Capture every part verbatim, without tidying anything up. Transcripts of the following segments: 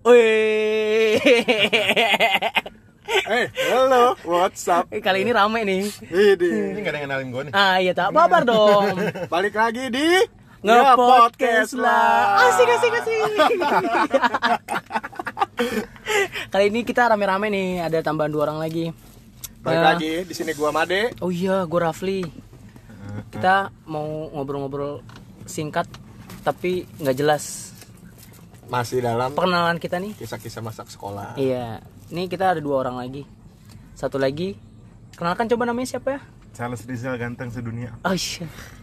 Wih. Eh, halo, what's up? Kali ini rame nih. Ini Ini gak ada yang kenalin gue nih. Ah iya tak babar dong. balik lagi di Nge-podcast lah. Asik asik asik. Kali ini kita rame-rame nih, ada tambahan dua orang lagi. Balik Eh, lagi di sini gua Made. Oh iya, gue Rafli. Kita mau ngobrol-ngobrol singkat tapi nggak jelas Masih dalam perkenalan kita nih. kisah-kisah masa sekolah. Iya, ini kita ada dua orang lagi. Satu lagi, kenalkan coba namanya siapa ya? Charles Rizal ganteng sedunia. Oh iya.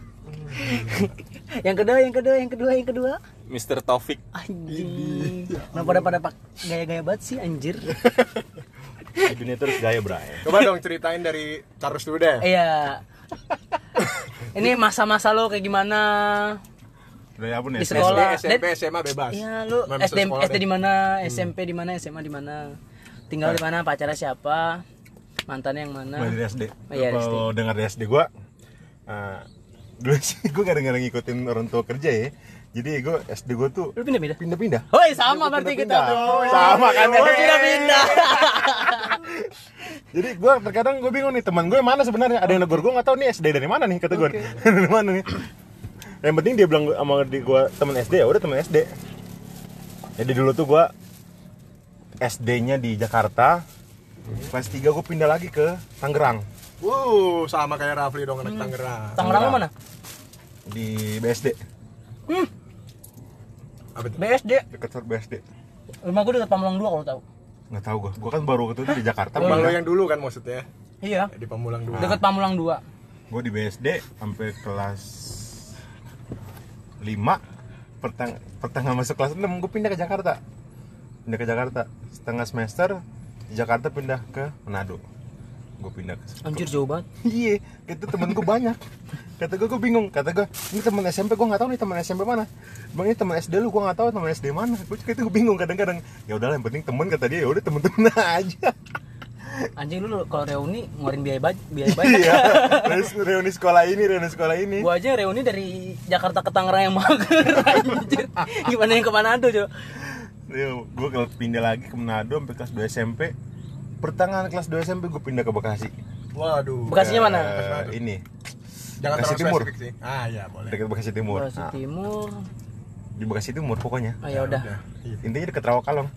yang kedua, yang kedua, yang kedua, yang kedua. mister Taufik. Anjing. Nah pada pada pak gaya-gaya banget sih anjir. Di dunia terus gaya bray. Coba dong ceritain dari Charles dulu deh. Iya. Ini masa-masa lo kayak gimana? Dari apa nih? Di sekolah. S D, S M P, S M A bebas. Iya, lu Main S D sekolah S D deh. di mana, S M P di mana, S M A di mana? Tinggal di mana, pacarnya siapa? Mantannya yang mana? Mulai dari S D. Oh, iya, dari Kalau dengar dari S D gue, uh, dulu sih gue kadang-kadang ngikutin orang tua kerja ya. Jadi gue S D gue tuh Lu pindah-pindah? pindah-pindah. Woi, sama berarti kita Pindah-pindah. tuh. Sama kan? Oh, pindah-pindah. Jadi gue terkadang gue bingung nih, teman gue mana sebenarnya? Ada yang negor gue nggak tahu nih S D dari mana nih kata gue. Dari mana nih? Yang penting dia bilang sama di gue teman S D, ya udah teman S D. Jadi dulu tuh gue S D-nya di Jakarta. Kelas tiga gue pindah lagi ke Tangerang. Wuh, sama kayak Rafli dong anak Tangerang. Tangerang lu mana? Di B S D. Hmm, Apa itu? B S D. Dekat B S D. Rumah gue dekat Pamulang dua kalau tahu. Nggak tahu gue. Gue kan baru ketemu di Jakarta. Bang lo yang dulu kan maksudnya. Iya. Di Pamulang dulu. Dekat Pamulang dua. Gue di B S D sampai kelas lima, pertang pertengahan masuk kelas enam gue pindah ke Jakarta. Pindah ke Jakarta. Setengah semester di Jakarta pindah ke Manado. Gue pindah ke Anjir jauh banget. Iya, itu temen gue banyak. Kata gue, gue bingung. Kata gue, ini temen S M P gue nggak tahu nih temen S M P mana. Bang ini temen S D lu, gue nggak tahu temen S D mana. Gue juga itu gue bingung kadang-kadang. Ya udahlah, yang penting temen kata dia. Ya udah temen-temen aja. Anjing lu kalau reuni ngeluarin biaya banyak, biaya banyak. Iya. Terus reuni sekolah ini, reuni sekolah ini. Gua aja reuni dari Jakarta ke Tangerang yang mager. Anjir. Gimana yang ke Manado, coba? Gue kalau pindah lagi ke Manado sampai kelas dua S M P. Pertengahan kelas dua S M P gue pindah ke Bekasi. Waduh. Bekasinya mana? Ke ini. Jangan Bekasi terlalu Timur. spesifik sih. Ah, iya boleh. Dekat Bekasi Timur. Bekasi Nah, Timur. di Bekasi Timur pokoknya. Oh ya udah. Iya. Intinya deket Rawakalong.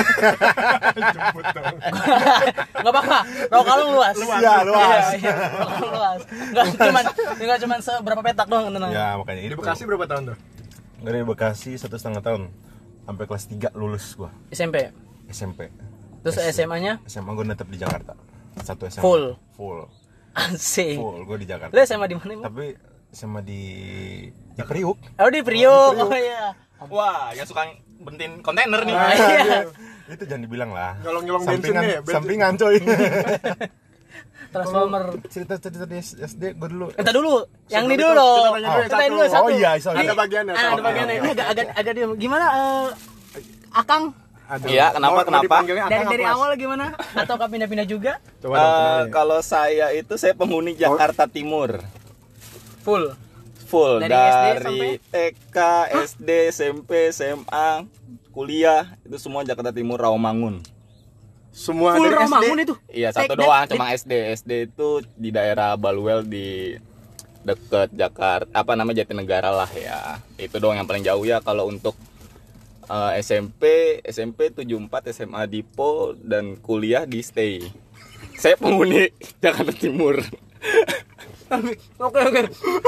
Jemput dong. Enggak apa-apa. Rawakalong luas. Iya, luas. Iya, iya. Rawakalong luas. Enggak cuman enggak cuman seberapa petak doang tenang. Ya makanya Di itu. Bekasi berapa tahun tuh? Dari Bekasi satu setengah tahun sampai kelas tiga lulus gua S M P. S M P. Terus S M A-nya S M A gua netep di Jakarta. Satu S M A. Full. Full. Asik. Full gua di Jakarta. Lu S M A di mana, Bang? Tapi S M A di di Priuk. Oh, di Priok. Oh iya. Wah, yang suka bentin kontainer nih. Ah, iya. Itu jangan dibilang lah. Nyolong-nyolong bensin Sampingan, nih, bensin. sampingan coy. Transformer. Cerita-cerita di S D gua dulu. Entar dulu, yang ini Sebelum dulu. itu, kita tanya dulu yang Ceritain dulu satu. satu. Oh iya, sorry. Ini- Ada bagiannya, Ah, ada soalnya. bagiannya. Ini agak agak agak diam. Gimana eh, Akang? Aduh. Iya, kenapa, Mau- mau kenapa? dipanggilnya Dari Akang dari apa, Mas? awal gimana? Atau kau pindah-pindah juga? Coba dong Eh, kenalin. kalau saya itu saya penghuni Jakarta Timur. Full. Full Dari dari, S D T K, S D, S M P, S M A, kuliah itu semua Jakarta Timur Rawamangun. Semua Full dari S D. Rawamangun itu. Iya, satu Take doang that. cuma S D. S D itu di daerah Baluel di deket Jakarta, apa nama Jatinegara lah ya. Itu doang yang paling jauh ya. Kalau untuk eh, S M P, S M P tujuh puluh empat, S M A Dipo dan kuliah di Stay. Saya penghuni Jakarta Timur. Oke oke.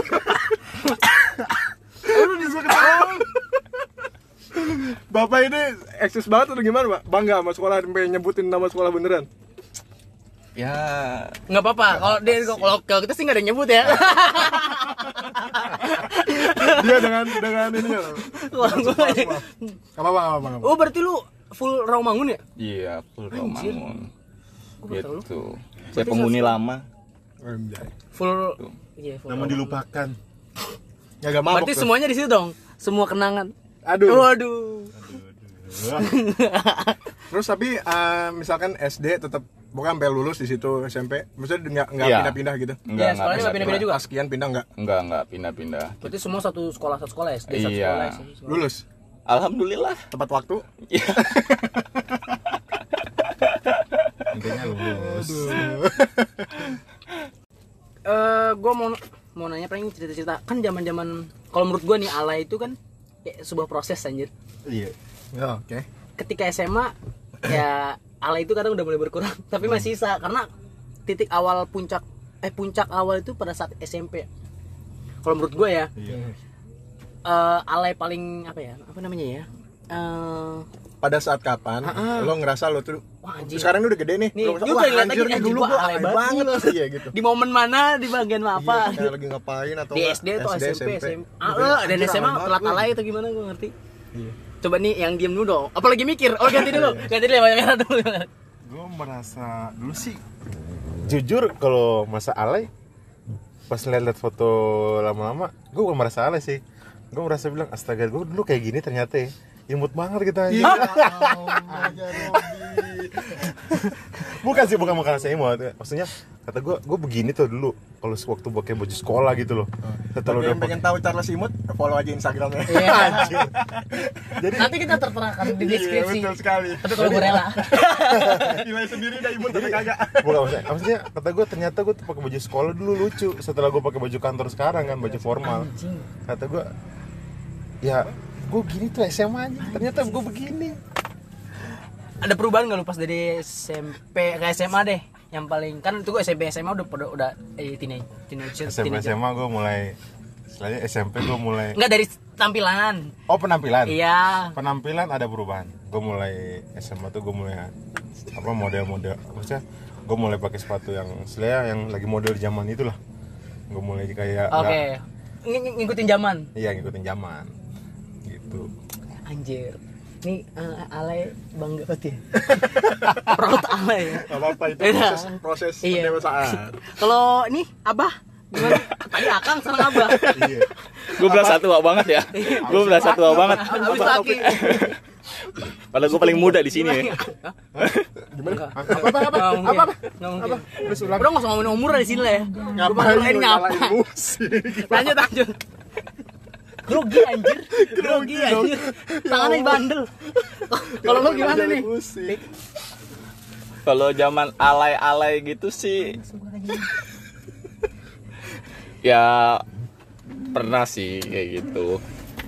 Lu disuruh ketawa. Bapak ini eksis banget atau gimana, Pak? Bangga sama sekolah sampai nyebutin nama sekolah beneran. Ya, Enggak apa-apa. Kalau dia kalau kalau kita sih enggak ada yang nyebut ya. Dia dengan dengan ini ya. Kalau gua- Enggak apa-apa, enggak apa-apa. Oh, berarti lu full Rawamangun ya? iya full Anjir. Rawamangun. Gua baru tahu lu. Gitu. Saya penghuni lama. Anjay. Full. Iya, full. Namun Rawamangun. dilupakan. Ya gak mabok. Berarti tuh. semuanya di situ dong. Semua kenangan. Aduh. Waduh. Terus tapi eh, misalkan S D tetap bukan sampai lulus di situ S M P. Maksudnya enggak enggak Iya. pindah-pindah gitu. Enggak, Iya, enggak sekolahnya nggak pindah-pindah juga. Pas sekian pindah enggak? Enggak, enggak pindah-pindah. Berarti semua satu sekolah satu sekolah S D satu Iya. sekolah S D satu sekolah. Lulus. Alhamdulillah. Tepat waktu. Iya. Intinya lulus. Eh, gue mau mau nanya paling cerita-cerita kan zaman-zaman kalau menurut gue nih alay itu kan kayak sebuah proses anjir. Iya. Ya, oke. Ketika S M A ya alay itu kadang udah mulai berkurang tapi masih sisa karena titik awal puncak eh puncak awal itu pada saat S M P. Kalau menurut gue ya Iya. eh, alay paling apa ya apa namanya ya eh, Pada saat kapan Ha-ha. lo ngerasa lo tuh wah anjir sekarang ini udah gede nih, Nih, lo ngerasa, juga wah lihat anjir lagi, nih anjir, dulu gua gua alay alay banget. banget iya gitu. di momen mana di bagian apa Iya, kayak lagi ngapain atau di enggak, S D atau S M P S M A Udah, ah, dan anjir, S M A alay telat banget alay atau gimana gue ngerti. Iya. Coba nih yang diem dulu dong apalagi mikir oh ganti dulu ganti dulu yang banyak merah dulu. Gue merasa dulu sih jujur kalau masa alay pas lihat foto lama-lama gue bukan merasa alay sih, gue merasa bilang astaga gue dulu kayak gini ternyata ya imut banget kita. Iya. Allah, ya Robi. Bukan sih, bukan bukan saya imut, maksudnya kata gue gue begini tuh dulu kalau waktu pakai baju sekolah gitu loh. Setelah Bagi udah yang pengen tahu Charles Imut, follow aja Instagramnya. Iya. Anjir. Jadi Nanti kita terterakan di Iya, deskripsi. betul sekali. Tapi kalau gue rela. Nilai sendiri udah imut tapi kagak. bukan maksudnya, maksudnya kata gue ternyata gue tuh pakai baju sekolah dulu lucu. Setelah gue pakai baju kantor sekarang kan baju formal. Anjing. Kata gue ya gue gini tuh S M A nya ternyata gue begini. Ada perubahan nggak lu pas dari S M P ke S M A deh? Yang paling kan itu gue S M P S M A udah udah, udah eh teenage teenager. S M P S M A gue mulai, setelahnya S M P gue mulai. Enggak dari tampilan. Oh penampilan. Iya. Penampilan ada perubahan. Gue mulai S M A tuh gue mulai apa model-model, maksudnya gue mulai pakai sepatu yang sebenarnya yang lagi model zaman itulah. Gue mulai kayak. Oke. nggak- Ng- ng- ngikutin zaman. Iya ngikutin zaman. Gitu. Anjir. Nih uh, alay bangga banget ya. Proud alay ya. Gak apa-apa itu Beda. proses proses Iya. pendewasaan. Kalau nih Abah gimana? Tadi Akang sekarang Abah. Iya. Gue berasa tua banget ya. Gue berasa tua banget. Habis laki. Padahal gue paling muda di sini. Gimana? Apa apa apa? Apa apa? Enggak mungkin. Terus ulang. Udah enggak usah ngomongin umur lah di sini lah ya. Ngapain Gua lu nyalain nyalain ngapa? musik? Lanjut lanjut. Grogi anjir. Grogi anjir. Tangannya bandel. Kalau lu gimana nih? Musik. Kalau zaman alay-alay gitu sih, ya pernah sih kayak gitu.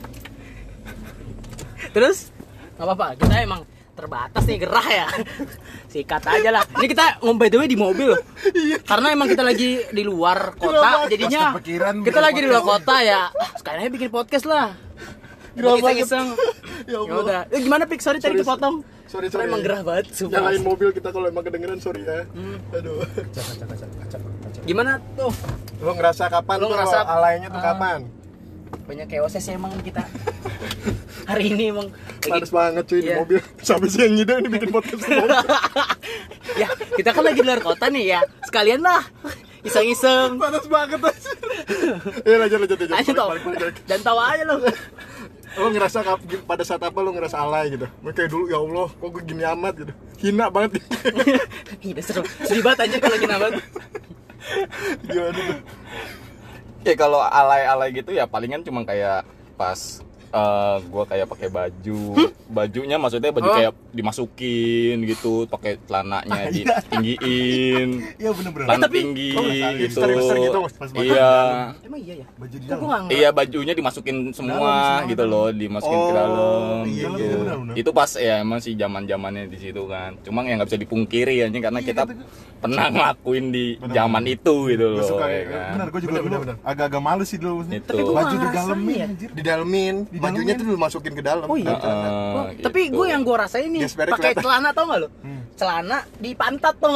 Terus nggak apa-apa, kita emang terbatas nih gerah ya. Sikat aja lah. Ini kita ngombe the way di mobil loh. Karena emang kita lagi di luar kota, jadinya Pas kepikiran kita bikin lagi di luar kota ya. Sekalian aja bikin podcast lah. Gerah banget. Iseng-iseng. Ya Ya Allah. udah. Eh, gimana Pik? Sorry tadi Sorry, kepotong. Sorry, Karena sorry. emang gerah banget. sumpah. Nyalain mobil kita kalau emang kedengeran, sorry ya. Aduh. Gimana tuh? Lo ngerasa kapan Lo tuh ngerasa- lo alaynya tuh Ah. kapan? Banyak chaosnya sih emang kita. Hari ini emang Panas banget cuy di Iya. mobil. Sampai siang ngide ini bikin podcast di mobil. ya kita kan lagi di luar kota nih ya. Sekalian lah. Iseng-iseng. Panas banget aja. Ya lanjut lanjut lanjut. Ayo tau. Balik, balik, balik. Dan tahu aja lo. Lo ngerasa kap- pada saat apa lo ngerasa alay gitu? Kayak dulu ya Allah, kok gue gini amat gitu. Hina banget. Iya seru. Sedih banget aja kalau lagi nambah. Gimana tuh? Ya kalau alay-alay gitu ya palingan cuma kayak pas eh gue kayak pakai baju, bajunya maksudnya baju Oh. kayak dimasukin gitu, pakai celananya ditinggiin, Iya bener-bener. celana tapi- tinggi oh, gitu. hipster-hipster gitu, pas baju Iya. Emang iya ya? Baju di Kok dalam. gua nggak Iya bajunya dimasukin semua gitu loh, dimasukin ke Oh, dalam iya, gitu. iya, benar, benar. Itu pas ya emang sih zaman-zamannya di situ kan. Cuma yang nggak bisa dipungkiri aja karena kita pernah ngelakuin di Benar, zaman itu gitu Gua loh. suka ya kayak kan. Bener, gue juga Bener, dulu bener, bener. agak-agak malu sih dulu. Itu. Tapi gua Baju nggak digalemin ngerasain ya. anjir. Didalemin, Di bajunya dalemin. tuh dimasukin ke dalam. Oh iya. Celana. Heeh, Oh, gitu. tapi gue yang gue rasain nih Gespernya pakai kelihatan. celana tau gak lo? Hmm. Celana di pantat tuh.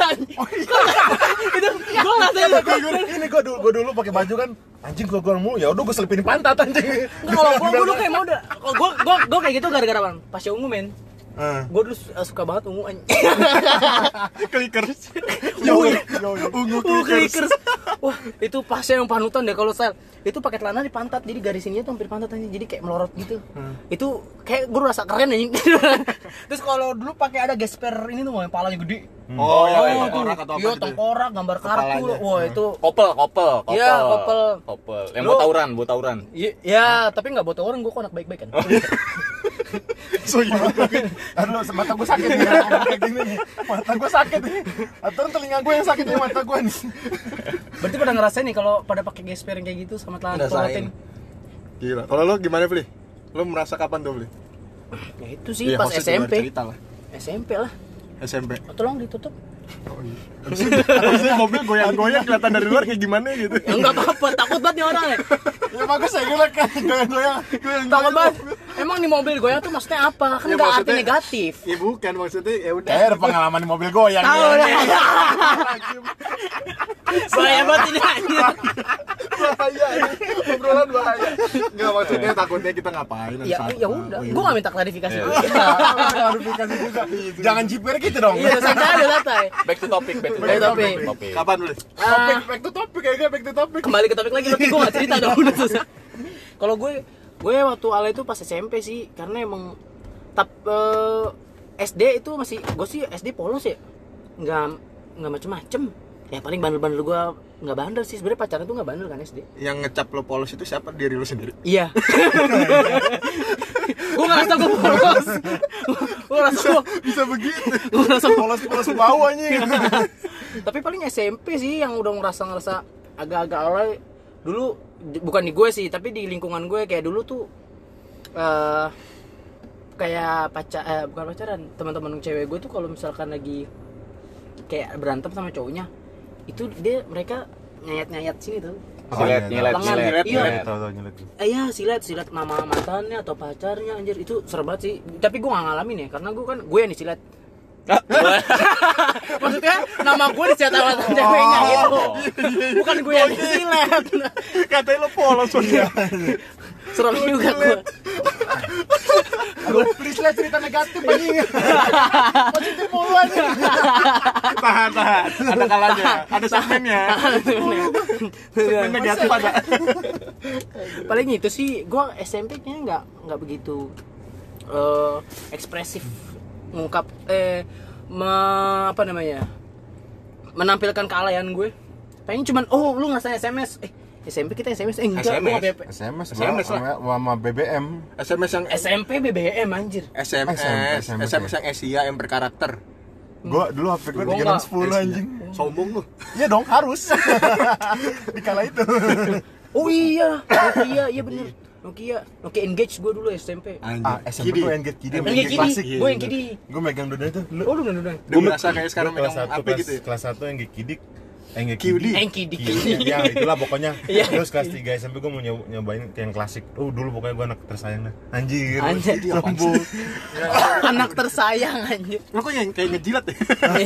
Itu gue ngerasain. Tapi gue ini gue dulu gue dulu pakai baju kan anjing gue gue mulu ya udah gue selipin di pantat anjing. Nggak, kalau gue gue dulu kayak mau udah. Kalau gue gue gue kayak gitu gara-gara apa? Pas ungu men. Eh. Gue dulu su- suka banget ungu anjing. Clickers. Yo, yo, yo. Ungu ungu clickers. clickers. Wah, itu pasnya yang panutan deh kalau style. Itu pakai celana di pantat, jadi garis ininya tuh hampir pantat anjing. Jadi kayak melorot gitu. Itu kayak gue rasa keren anjing. Terus kalau dulu pakai ada gesper ini tuh yang palanya gede. Oh, ya, Oh, ya, tuh. tengkorak atau apa Iya, gitu. tengkorak, gambar kartu. Kepalanya. Wah, itu Kopel, kopel, kopel. Iya, kopel. Kopel. Yang Lu- buat tawuran, buat tawuran. Iya, ya, tapi nggak buat orang, gue kok anak baik-baik kan. So iya. Aduh, mata gue sakit nih ngomong kayak gini nih. Mata gue sakit nih. Atau telinga gue yang sakit nih mata gue nih. Berarti pada ngerasain nih kalau pada pakai gesper yang kayak gitu sama celana Ngerasain. protein. Gila. Kalau lo gimana, Bli? Lo merasa kapan tuh, Bli? Ya itu sih Iya, pas maksudnya S M luar P. cerita lah. S M P lah. S M P. Oh, tolong ditutup. Oh iya. Habisnya mobil goyang-goyang kelihatan dari luar kayak gimana gitu. Ya enggak apa-apa, takut banget nih orang ya. Ya bagus saya kira kan goyang-goyang. Takut banget. Emang di mobil goyang tuh maksudnya apa? Kan Ya, enggak arti maksudnya- negatif. Ya bukan, maksudnya ya udah. Kayak ada pengalaman di mobil goyang. Tahu ya. deh. Bahaya banget ini anjir. Bahaya ini. Obrolan bahaya. Enggak, maksudnya takutnya kita ngapain Ya saat- ya udah, Oh, iya. gua enggak minta klarifikasi dulu. Klarifikasi juga. Jangan jiper gitu dong. Iya, santai aja santai. Back to topic, back to Back to topic. topic. Topik. Kapan, Bli? Topik, Ah, back to topic kayaknya back to topic. kembali ke topik lagi, berarti gue gak cerita dong udah susah. Kalau gue gue waktu ala itu pas S M P sih, karena emang tap eh, S D itu masih gue sih S D polos ya, nggak nggak macem-macem. Ya paling bandel-bandel gue nggak bandel sih, sebenarnya pacaran tuh nggak bandel kan S D. Yang ngecap lo polos itu siapa? Diri lo sendiri. Iya. Gue ngerasa gue polos. Gue ngerasa gue Bisa begitu. gue ngerasa Polos-polos bau anjing. Tapi paling S M P sih yang udah ngerasa ngerasa agak-agak alay. Dulu di- bukan di gue sih, tapi di lingkungan gue kayak dulu tuh eh kayak pacar eh, bukan pacaran, teman-teman cewek gue tuh kalau misalkan lagi kayak berantem sama cowoknya, itu dia mereka nyayat-nyayat sini tuh. Nyilet, nyilet, Lengan. nyilet, Iya. nyilet. Tahu-tahu nyelet. Eh ya silet silet nama mantannya atau pacarnya anjir, itu serem banget sih. Tapi gue gak ngalamin ya, karena gue kan gue yang disilet. Maksudnya nama gue disilet sama mantan ceweknya gitu. Bukan gue yang disilet. Katanya lo polos soalnya. Serem juga gue. Aduh, please lah cerita negatif anjing. Positif mulu anjing. Tahan, tahan. Ada kalanya, ada segmennya. Segmen negatif ada. Paling itu sih gue S M P kayaknya nggak nggak begitu eh, ekspresif ngungkap eh me, apa namanya menampilkan kealayan gue. Pengen cuman oh lu ngerasain S M S eh S M P kita S M S eh enggak S M S. gua nggak P P. S M S, S M S lah. sama, sama B B M. S M S yang S M P B B M anjir. S M S, S M S, S M S yang Asia yang berkarakter. Gua dulu H P gua Gua tiga enam sepuluh Asia. anjing. Sombong lu. Iya dong, harus. Di kala itu. Oh iya, Nokia iya bener. Nokia, Nokia Engage gue dulu S M P. Ah, S M P gua yang get kidi, Yang Kidi, klasik. gue yang Kidi. Gua megang dua itu. Lu Oh lu udah udah. Udah merasa kayak sekarang Gua megang kelas satu, apa kelas- gitu ya? Kelas satu yang get kidi. Eh, nge Q D. Yang Kidi. Kidi. Ya, itulah pokoknya. Iya. Terus kelas tiga S M P gua mau nyob- nyobain ke yang klasik. Oh, dulu pokoknya gua anak tersayang dah. Anjir. Anjir. Sombong. Anak tersayang anjir. Lo kok yang kayak ngejilat ya?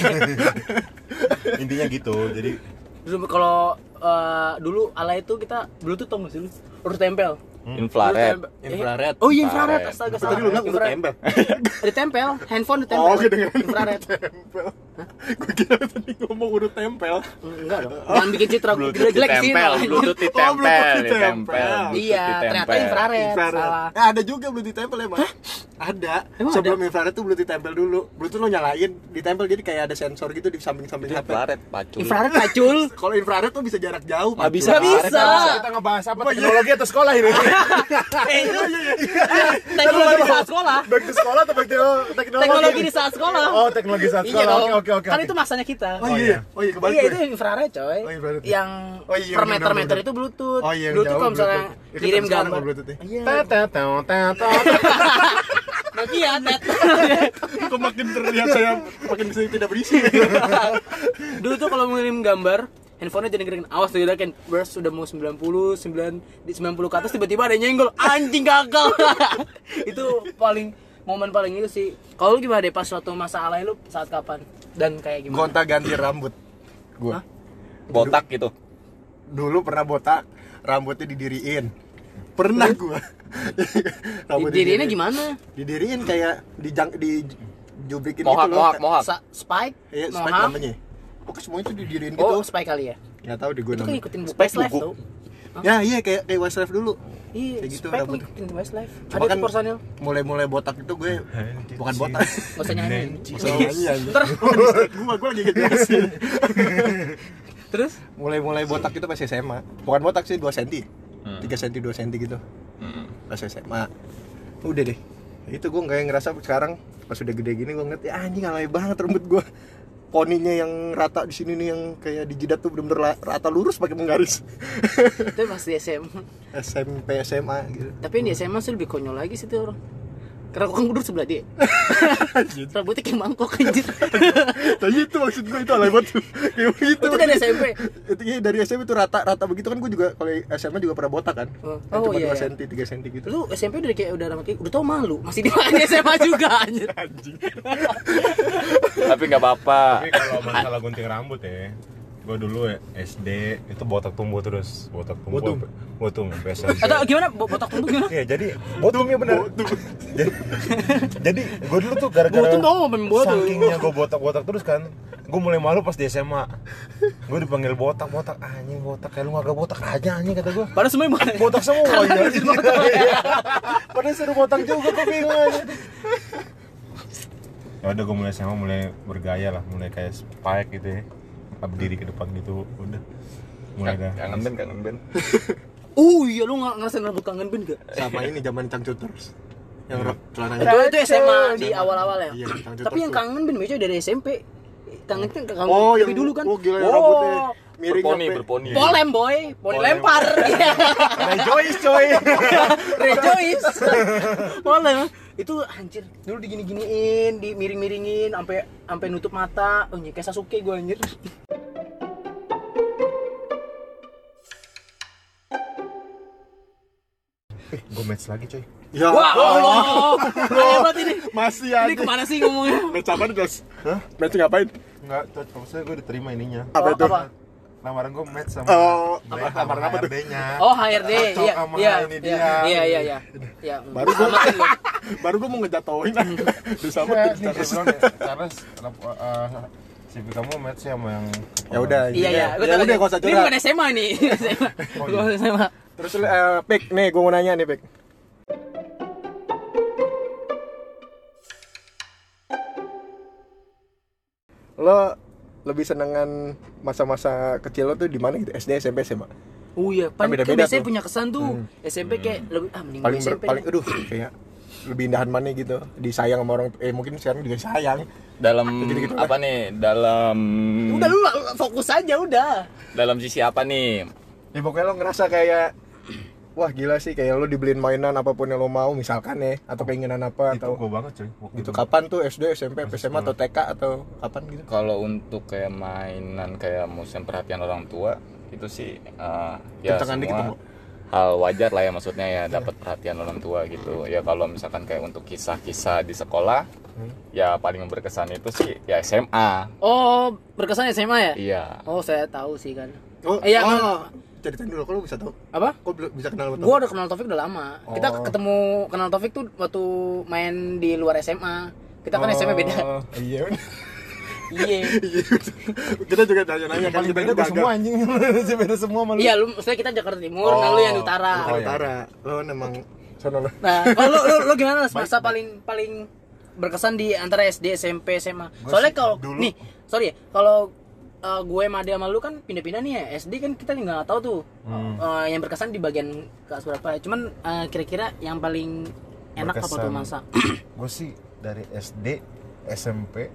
Intinya gitu. Jadi Dulu kalau eh, dulu ala itu kita Bluetooth tau gak sih lu? Urut tempel. Infrared. Urut tempel. Infrared. Oh iya infrared, Infrared. astaga. Tadi lu bilang udah tempel. Ditempel, handphone ditempel. Oh, kedengeran Infrared. tempel. Gue kira tadi ngomong urut tempel. Enggak dong. Jangan bikin citra Bluetooth jelek-jelek sih. ditempel, Bluetooth ditempel, Oh, Bluetooth ditempel. ditempel. Iya, Bluetooth ternyata ditempel. infrared. Infrared. Salah. Eh, ada juga Bluetooth tempel emang. Ada. Emang Sebelum infrared tuh Bluetooth tempel dulu. Bluetooth lo nyalain, ditempel jadi kayak ada sensor gitu di samping-samping H P. Infrared, pacul. Infrared pacul. Kalau infrared tuh bisa jarak jauh. Nggak Pak. bisa. Nggak bisa. kita ngebahas apa teknologi atau sekolah ini? Eh, itu teknologi di saat sekolah. Back to sekolah atau back to teknologi? Teknologi di saat sekolah. Oh, teknologi saat Iya sekolah. dong. Oke, oke, oke. Kan oke. itu masanya kita. Oh Oh, iya. iya. Oh iya kebalik Iya gue. itu infrared coy. Oh, infrared. Yang Oh, iya, per bener, meter-meter bener. itu Bluetooth. Oh, iya, yang Bluetooth jauh, kalau misalnya Bluetooth. Itu kirim kan sekarang gambar. Bluetooth ya. Iya. Tet, tet, tet, tet, tet. Nokia tet. Kok makin terlihat saya makin sering tidak berisi. Dulu tuh kalau mengirim gambar, handphonenya jadi gering. Awas tuh kan burst sudah mau sembilan puluh, sembilan di sembilan puluh ke atas tiba-tiba ada yang nyenggol. Anjing gagal. Itu paling momen paling itu sih. Kalau lu gimana deh pas suatu masa alay lu saat kapan dan kayak gimana? Gonta ganti rambut. Gua. Hah? Botak gitu. Dulu pernah botak, rambutnya didiriin. Pernah gua. Rambut Dirinya didiriin. gimana? Didiriin kayak di jang, di jubrikin Mohak, gitu loh. mohak, mohak. Sa- spike? Iya, spike Mohak? namanya. Pokoknya semuanya tuh didiriin gitu. Oh, spike kali ya. Enggak tahu deh gua Itu kan namanya. ikutin Spike Westlife buku. tuh. Ya, iya kayak kayak Westlife dulu. Iya, Kayak gitu spike rambut. ngikutin Westlife. Cuma Ada kan tuh personil. mulai-mulai botak itu gue bukan botak. Gak usah nyanyi. Gak usah nyanyi aja. Ntar. Gua gua lagi ngejelasin. Terus? Mulai-mulai botak itu pas S M A. Bukan botak sih, dua sentimeter. Hmm. tiga sentimeter, dua sentimeter gitu. Hmm. Pas S M A. Udah deh. Itu gue kayak ngerasa sekarang pas udah gede gini gue ngeliat ya anjing alay banget rambut gue. Poninya yang rata di sini nih yang kayak di jidat tuh bener-bener rata lurus pakai penggaris. Itu pas di S M A. S M P S M A gitu. Tapi yang di S M A sih lebih konyol lagi sih tuh orang. Karena aku kan duduk sebelah dia. Rambutnya kayak mangkok anjir. Tapi itu maksud gue itu alay banget tuh. Kayak begitu. Itu dari S M P. Itu iya dari S M P itu rata-rata begitu kan gue juga kalau S M A juga pernah botak kan. Oh, Kan oh cuma iya, dua iya. sentimeter, tiga sentimeter gitu. Lu S M P udah kayak udah rambut kayak udah tau malu. Masih di mana S M A juga anjir. Anjing. Tapi nggak apa-apa. Tapi kalau masalah gunting rambut ya, gue dulu ya, S D itu botak tumbuh terus, botak tumbuh. Botum. Botum, sampai S M P. Atau gimana? Bo- Botak tumbuh gimana? Iya, jadi botum ya benar. jadi jadi gue dulu tuh gara-gara Botum dong, main botum. sakingnya gue botak-botak terus kan, gue mulai malu pas di S M A. Gue dipanggil botak-botak, anjing botak kayak lu gak botak aja anjing kata gue. Padahal semuanya botak. Botak semua ya. Padahal seru botak juga kok bingung aja. Ya udah gue mulai S M A mulai bergaya lah, mulai kayak Spike gitu ya. Berdiri ke depan gitu, udah. Mulai dah. Kangen band, kangen band. Oh iya, lu nggak ngerasain rambut kangen Ben gak? Sama ini zaman Cangcuters. Yang Iya. rok celananya. Itu itu S M A di awal-awal ya. Iya, Cangcuters Tapi yang tuh. kangen Ben biasanya dari S M P. Kangen kan kangen Oh, dari yang dulu kan. Oh, gila yang rambutnya miring Berponi, sampai- berponi. Polem boy, poni lempar. Iya. Rejoice coy. Rejoice. Polem. Itu anjir, dulu digini-giniin, dimiring-miringin sampai sampai nutup mata. Oh, kayak Sasuke gua anjir. Eh, gue match lagi coy. Ya. Wah, Allah. Hebat ini. Masih Ini ada. kemana sih ngomongnya? Match apa nih, Jos? Hah? Match ngapain? Enggak, cocok. Maksudnya gue diterima ininya. Apa Oh, itu? apa? Lamaran gue match sama Oh, sama apa- lamaran apa tuh? H R D-nya. Oh, H R D. Cocok Iya, sama iya. ini Iya, dia. iya, iya, iya. Ya, Baru gua samatin lu. baru gua mau ngejatoin. Disama Iya, tuh. nih gue bilang ya, Charles, uh, C V kamu match sama yang Ya udah. Iya, iya. Gua Ya tahu udah, nih. enggak usah Ini curhat. bukan S M A nih. S M A. Oh, Gua iya. S M A. Terus eh Pik, nih gua mau nanya nih, Pik. Lo lebih senengan masa-masa kecil lo tuh di mana gitu? S D, S M P, S M A? Oh iya, Kan paling kan beda-beda biasanya tuh. punya kesan tuh. S M P kayak lebih ah mending Paling S ber, M P. paling deh. aduh kayak lebih indahan mana gitu. Disayang sama orang eh mungkin sekarang juga sayang. Dalam Gitu-gitu apa nih? Dalam Udah lu lu fokus aja udah. dalam sisi apa nih? Ya pokoknya lo ngerasa kayak wah gila sih kayak lo dibeliin mainan apapun yang lo mau misalkan ya atau keinginan apa itu atau gue banget coy. Waktu gitu itu. kapan tuh S D, S M P, S M A atau T K atau kapan gitu? Kalau untuk kayak mainan kayak musim perhatian orang tua itu sih eh, ya Kencengan dikit semua dong, Bu. hal wajar lah ya, maksudnya ya dapat perhatian orang tua gitu. Ya kalau misalkan kayak untuk kisah-kisah di sekolah ya paling berkesan itu sih ya S M A. Oh, berkesan S M A ya? Iya. Oh, saya tahu sih kan. Oh, Iya, oh, ceritain dulu kok lo bisa tahu. Apa? Kok belum bisa kenal sama Gua udah kenal Taufik udah lama. Kita Oh. ketemu kenal Taufik tuh waktu main di luar S M A. Kita kan S M A beda. Oh, iya. Iya. Kita juga tanya-nanya kan Paling kita beda gue gagal. semua anjing. Beda semua malu. Iya, lu maksudnya kita Jakarta Timur, nah lu yang di utara. Bukan Oh, iya. utara. Lo memang sono lo. Nah, kalau lu, lu, lu gimana Mas? Masa paling paling berkesan di antara S D, S M P, S M A? Gua Soalnya sih kalau dulu- nih, sorry ya, kalau uh, gue sama dia sama lu kan pindah-pindah nih ya. S D kan kita nggak tahu tuh Hmm. uh, yang berkesan di bagian kelas berapa. Cuman uh, kira-kira yang paling enak apa tuh Berkesan. masa? Gue sih dari S D, S M P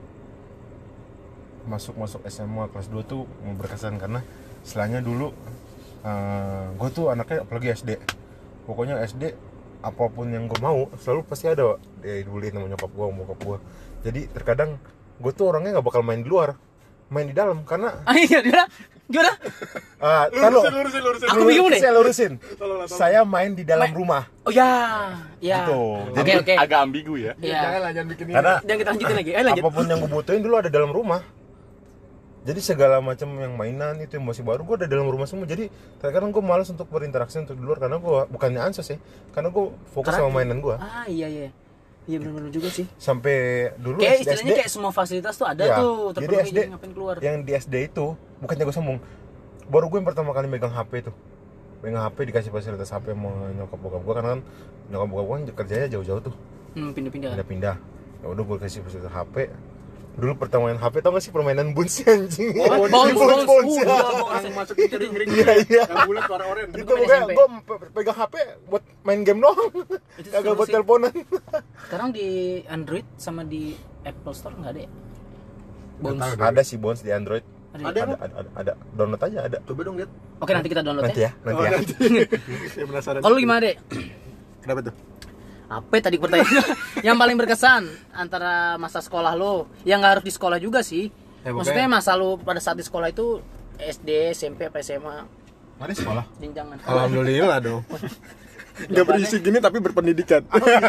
masuk masuk S M A kelas dua tuh mau berkesan karena istilahnya dulu uh, gue tuh anaknya apalagi S D, pokoknya S D apapun yang gue mau selalu pasti ada Wak. Dia dibeliin sama nyokap gue, sama bokap gue. Jadi terkadang gue tuh orangnya nggak bakal main di luar, main di dalam karena Ah iya, gimana? Gimana? ah kalau lurusin, lurusin. Aku bingung deh. saya lurusin, saya main di dalam Main- rumah Oh ya, ya. gitu. Oke Jadi oke. Agak ambigu ya. Iya. Jangan lah, jangan bikin ini. karena Jangan kita lanjutin lagi. Eh lanjut. apapun yang gue butuhin dulu ada dalam rumah. Jadi segala macam yang mainan itu yang masih baru gue ada dalam rumah semua. Jadi terkadang gue malas untuk berinteraksi untuk di luar karena gue bukannya ansos ya, karena gue fokus Karena- sama mainan gue. Ah iya iya. Iya benar-benar juga sih. Sampai dulu Kayak S D, istilahnya kayak semua fasilitas tuh ada ya, tuh, jadi terpenuhi S D jadi ngapain keluar. yang di S D itu bukannya gue sombong, baru gue yang pertama kali megang H P tuh, megang H P dikasih fasilitas H P sama nyokap bokap gue karena kan nyokap bokap gue kan kerjanya jauh-jauh tuh, Hmm, pindah-pindah. pindah-pindah. Ya udah gue kasih fasilitas H P, dulu pertama main H P tau gak sih permainan Bones anjing. Oh, Bones, Bones, Bones, Bones. ya. Uh, Yang masuk itu ring-ring. Iya, iya. Yang bulat warna oranye. Itu Itu main pokoknya S M P. gue pegang H P buat main game doang. Itu Kagak seru buat sih. teleponan. Sekarang di Android sama di Apple Store nggak ada ya? Bones. Nggak tahu. Ada sih Bones di Android. Ada. Ada. Ada, ada, ada, ada. Download aja ada. Coba dong lihat. Oke, nanti kita download Nanti ya. ya, nanti Oh, ya. nanti. Saya penasaran. Kalau lu gimana, Dek? Kenapa tuh? Apa tadi pertanyaan? Yang paling berkesan antara masa sekolah lo, yang nggak harus di sekolah juga sih. Ya, Maksudnya masa lo pada saat di sekolah itu S D, S M P, apa S M A, Mari sekolah. jenjangan. Alhamdulillah dong. Nggak berisi gini tapi berpendidikan.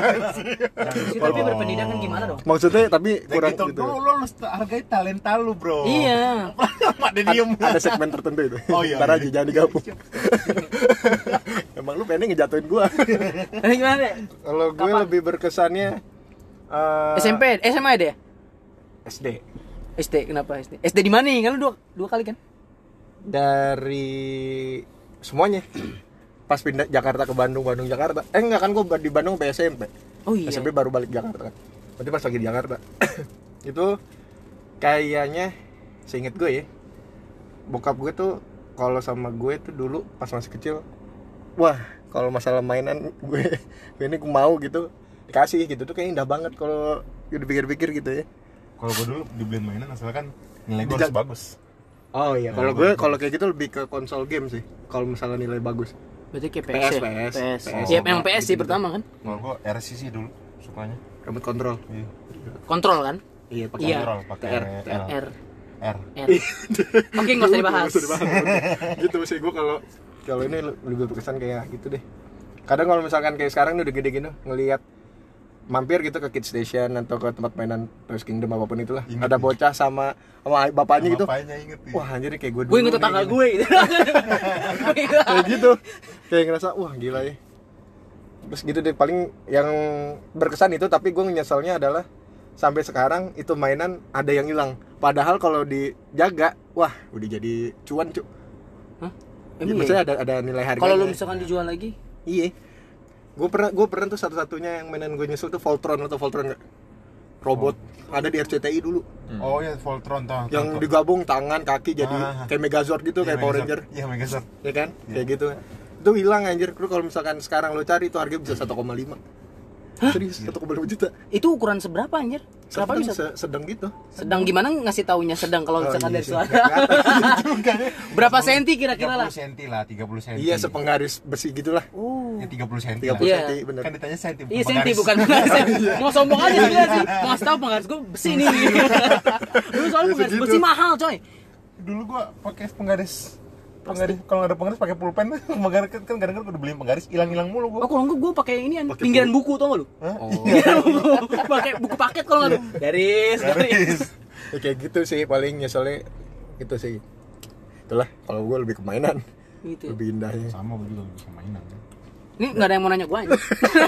Sih, tapi berpendidikan gimana dong? Maksudnya tapi kurang gitu. gitu. Lu, lu harus hargai talenta lu, bro. Iya. Mak dia diem. Ada segmen tertentu itu. Oh, iya, Ntar iya. aja jangan digabung. Emang lu pengen ngejatuhin gua. Nah, gimana, Dek? Kalau gue Kapan? lebih berkesannya eh, S M P, S M A ya, Dek? S D. S D, kenapa S D? S D di mana nih? Kan lu dua, dua kali kan? Dari semuanya. Pas pindah Jakarta ke Bandung, Bandung Jakarta. Eh enggak kan gue di Bandung sampai S M P. Oh iya. S M P baru balik Jakarta kan. Berarti pas lagi di Jakarta. Itu kayaknya seinget gue ya. Bokap gue tuh kalau sama gue tuh dulu pas masih kecil, wah, kalau masalah mainan gue, gue ini gue mau gitu dikasih gitu tuh kayak indah banget kalau dipikir-pikir gitu ya. Kalau gue dulu dibeliin mainan asalkan nilai gue Tidak. harus bagus. Oh iya, Nah, kalau gue- gue kalau kayak gitu lebih ke konsol game sih. Kalau misalnya nilai bagus. Berarti kayak P P S, S, ya? P S. P S. P S. Iya, yang P S sih Gitu-gitu. pertama kan? Kalau gue R C sih dulu sukanya. Remote control. Iya. Kontrol kan? Iya, pakai Iya. Kontrol pakai R, L. R. R. R. Oke, nggak usah dibahas. Nggak usah dibahas. Gitu sih gue kalau kalau ini lebih berkesan kayak gitu deh. Kadang kalau misalkan kayak sekarang nih udah gede gitu ngelihat mampir gitu ke Kids Station atau ke tempat mainan Toys Kingdom apapun itulah. Ingat Ada nih. bocah sama sama bapaknya gitu. Bapaknya inget nih. Wah, anjir kayak gue dulu. Gue inget nih, tetangga gini. gue gitu. Kayak gitu. Kayak ngerasa wah gila ya. Terus gitu deh paling yang berkesan itu tapi gue nyeselnya adalah sampai sekarang itu mainan ada yang hilang. Padahal kalau dijaga, wah udah jadi cuan cu. Hah? Ya, Emang maksudnya iya? ada ada nilai harganya. Kalau lu misalkan dijual lagi, Iya. Gue pernah gue pernah tuh satu-satunya yang mainan gue nyesel tuh Voltron atau Voltron enggak? Robot. Ada di R C T I dulu. Oh iya, Voltron tau. Yang tau, tau. digabung tangan, kaki jadi Ah. kayak Megazord gitu, Iya, kayak Power Megazord. Ranger. Iya, Megazord. Ya kan? Iya. Kayak gitu. Itu hilang anjir. Lu kalau misalkan sekarang lo cari itu harganya bisa satu koma lima. Serius, satu koma lima juta. itu ukuran seberapa anjir? Kenapa Sedang, bisa? se- sedang gitu. Sedang gimana ngasih taunya sedang kalau Oh, misalkan iya dari sih. suara? Berapa senti kira-kira lah? tiga puluh senti lah, tiga puluh senti. Iya, sepenggaris besi gitulah. Oh. Ya tiga puluh senti. tiga puluh Iya. senti bener. Kan ditanya senti. Iya bukan senti garis. bukan penggaris. Mau sombong aja sebenarnya sih. Mau ngasih tahu penggaris gue besi nih. Dulu soalnya Ya, penggaris segitu. besi mahal coy. Dulu gua pakai penggaris penggaris kalau nggak ada penggaris pakai pulpen. Penggaris kan kadang-kadang gua udah beliin penggaris hilang-hilang mulu Oh gua. kalau enggak gue pakai ini an Pakai pinggiran buku tau gak lu? Hah? Oh. Pinggiran buku. Pakai buku paket kalau nggak lu. Garis, garis. Ya, kayak gitu sih paling nyeselnya gitu sih. Itulah kalau gue lebih ke mainan. Gitu. Lebih indahnya. Sama gua juga bisa mainan. Ini nggak ada yang mau nanya gue aja.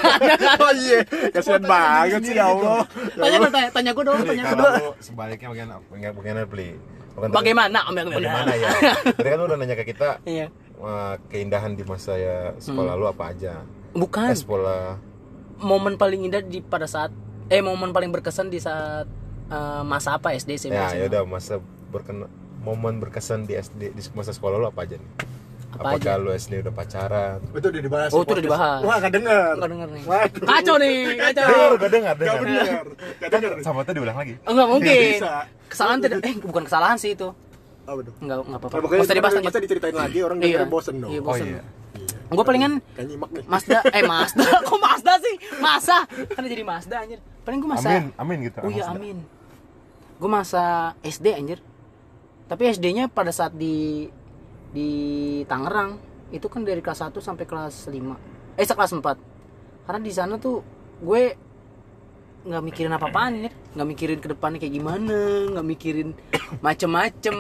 Oh iya, kasihan banget sih ya Allah. Tanya dong, tanya, tanya gue dong, Nih, tanya gue kalau dong. lu sebaliknya bagaimana bagaimana bagaimana beli? Bukan tadi- Bagaimana? Om yang Bagaimana ya? Tadi kan lu udah nanya ke kita Iya. eh, keindahan di masa ya sekolah lu apa aja? Bukan. Eh, sekolah Momen paling indah di pada saat eh momen paling berkesan di saat eh, masa apa S D S M P? ya S M A? ya udah masa berkena momen berkesan di S D di masa sekolah lu apa aja nih? Apa Apakah aja? lu S D udah pacaran? Itu udah dibahas. Oh, di itu udah podcast. dibahas. Wah, enggak denger. Nggak denger nih. Waduh. Kacau nih, kacau. Dengar, gak dengar, Enggak dengar. bener. Enggak denger. Sama tadi ulang lagi. Oh, enggak mungkin. Nggak bisa. Kesalahan tidak eh bukan kesalahan sih itu. Apa tuh? Enggak enggak apa-apa. Nah, Nggak usah dibahas masa lanjut. diceritain lagi orang Iya. denger bosen dong. Iya, Oh bosen. iya. Gue palingan Kayak nyimak nih. Mazda, eh Mazda, kok Mazda sih? Masa? Kan jadi Mazda anjir. Paling gue masa. Amin, amin gitu. Oh iya Mazda. amin. Gue masa S D anjir. Tapi S D-nya pada saat di di Tangerang itu kan dari kelas satu sampai kelas lima. Eh kelas empat. Karena di sana tuh gue nggak mikirin apa-apaan ya, nggak mikirin ke depannya kayak gimana, nggak mikirin macem-macem.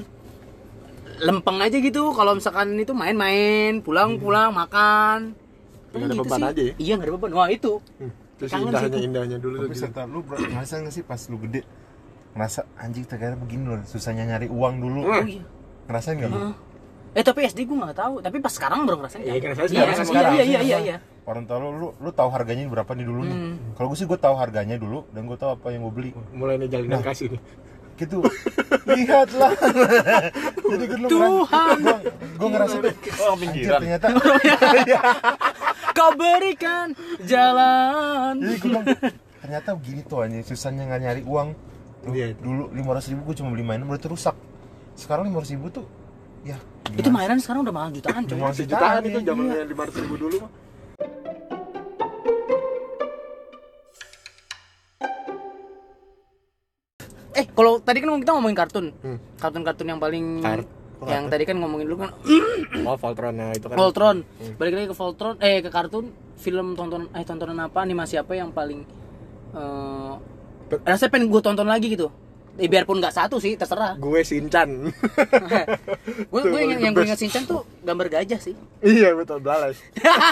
Lempeng aja gitu. Kalau misalkan itu main-main, pulang-pulang makan. Nggak ada Gitu beban sih. aja ya? Iya nggak ada beban. Wah itu. Hmm. Terus Kangen indahnya situ. indahnya dulu tuh. Tapi gitu. serta lu bro, ngerasa gak sih pas lu gede ngerasa anjing ternyata begini loh susahnya nyari uang dulu. Oh iya. Ngerasain gak lu? Heeh. Eh tapi S D gue nggak tahu, tapi pas sekarang baru ngerasain. Iya, kan? ngerasain Iya, sekarang, iya, sekarang. iya, iya, iya, iya. Gorontalo lu lu tahu harganya berapa nih dulu nih. Hmm. Kalau gue sih gue tahu harganya dulu dan gue tahu apa yang gue beli. Mulai nih jalinan kasih nih. Gitu. Lihatlah. Jadi gue lu Tuhan. gue gue ngerasa tuh Oh, anjir, pinggiran. ternyata Kau berikan jalan. jadi gue bilang ternyata begini tuh anjing susahnya nggak nyari uang. Tuh, Iya. dulu lima ratus ribu gue cuma beli mainan udah rusak. Sekarang lima ratus ribu tuh ya Itu mainan sekarang udah mahal jutaan coy. Mahal Jutaan Jutaan, itu iya. zamannya lima ratus ribu dulu mah. Eh, kalau tadi kan kita ngomongin kartun. Hmm. Kartun-kartun yang paling Kart- yang tadi kan ngomongin dulu kan Oh, Voltron nah itu kan. Voltron. Balik lagi ke Voltron, eh ke kartun, film tonton eh tontonan apa, animasi apa yang paling eh rasanya pengen gue tonton lagi gitu. Eh, biarpun nggak satu sih, terserah. Gue Shinchan. Gue gue yang yang gue ingat Shinchan tuh gambar gajah sih. Iya betul Blalas.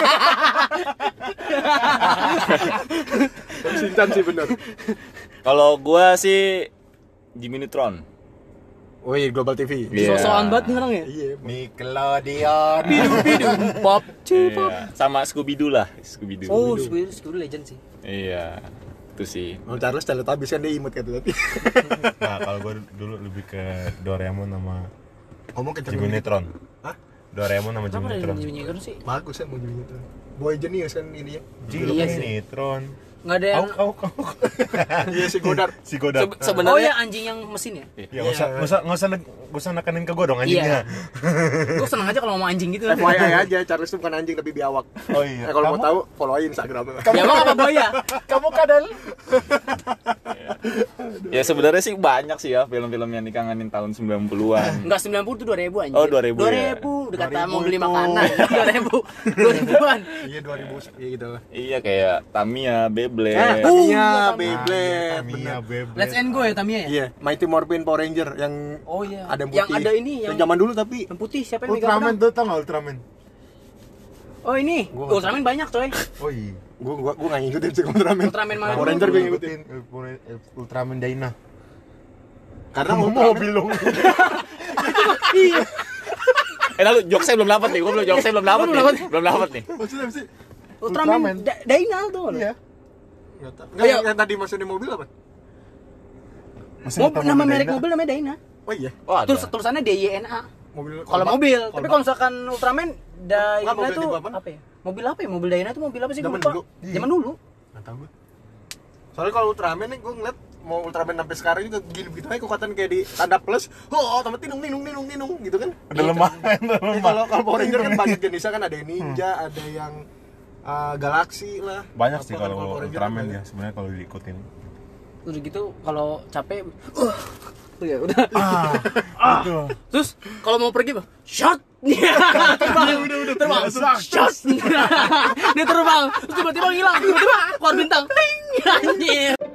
Shinchan sih bener. Kalau gua sih Jimmy Neutron. Oh iya Global T V. Iya. So-soan banget nih orang ya. Iya. Nickelodeon. Bidung pop, cipop. Iya. Sama Scooby Doo lah, Scooby Doo. Oh, Scooby Scooby Legend sih. Iya. Itu sih. Oh Charles Teletubbies kan dia imut kayak tadi. Nah, kalau gue dulu lebih ke Doraemon sama Ngomong ke Jimmy Neutron. Hah? Doraemon sama Kenapa Jimmy ada Neutron. Jimmy Neutron sih? Bagus kan mau Jimmy Neutron. Boy Genius kan ini ya. Jimmy Iya sih. Neutron. Nggak ada yang Kau kau kau. Iya si Godard. Si Godard. Se- sebenarnya Oh ya anjing yang mesin ya? Ya nggak usah nggak usah nggak usah nggak usah nekanin ke gue dong anjingnya. Gue seneng aja kalau ngomong anjing gitu. F Y I aja Charles itu bukan anjing tapi biawak. Oh iya. Eh, kalau mau Kamu- tahu follow aja Instagramnya. Ya emang apa boya? kamu kadal. Ya sebenarnya sih banyak sih ya film-film yang dikangenin tahun sembilan puluhan. Enggak sembilan puluh tuh dua ribu anjir. Oh, dua ribu dua ya. ribu udah kata dua ribu mau beli itu. makanan. dua ribu dua ribuan. Iya dua ribu iya gitu lah. Iya kayak Tamiya, Beyblade. Uh, Tamiya, iya, Beyblade. Tamiya, bener. Beyblade. Let's end go ya Tamiya ya? Iya, Mighty Morphin Power Ranger yang Oh iya. ada yang putih. Yang ada ini yang zaman dulu tapi yang putih siapa yang megang Ultraman pedang? tuh tau nggak Ultraman? Oh ini. Gua- Ultraman banyak coy. Oh iya. gua gua gua enggak ngikutin sih Ultraman. Ultraman mana? Power Ranger gue ngikutin. ngikutin Ultraman Dyna. Karena Mau Ultraman mobil dong. Iya. Eh lalu jokesnya belum dapat nih, gua belum jokesnya belum dapat Belum nih. dapat. Belum dapat nih. maksudnya apa sih? Ultraman Ultraman. Da- Dynal tuh. Iya. Enggak tahu. Ayo. Yang, yang tadi maksudnya mobil apa? Masih Mobil, nggak tahu nama mobil merek Dyna? mobil namanya Dyna. Oh iya. Oh, ada. Terus tulisannya D Y N A. Mobil Kalau mobil, tapi kalau misalkan Ultraman Dyna Nggak, mobil tuh tipe apa? apa ya? Mobil apa ya? Mobil Dyna tuh mobil apa sih? Gua Zaman lupa. dulu. Zaman dulu. Enggak tahu gue. Soalnya kalau Ultraman nih gue ngeliat mau Ultraman sampai sekarang juga gini begitu aja kekuatan kayak di tanda plus. Oh, tambah tinung tinung tinung tinung gitu kan. Udah lemah, udah Eh, lemah. kalau kalau Power Ranger kan banyak jenisnya kan ada yang ninja, ada yang uh, galaksi lah. Banyak sih Apa kan kalau Power Ranger Ultraman kan ya sebenarnya kalau diikutin. Udah gitu kalau capek uh, ya udah. Ah, itu. Terus kalau mau pergi, shot. Terbang, udah udah terbang. Shot. Dia terbang, terus tiba-tiba hilang, tiba-tiba keluar bintang. Ting. Anjir.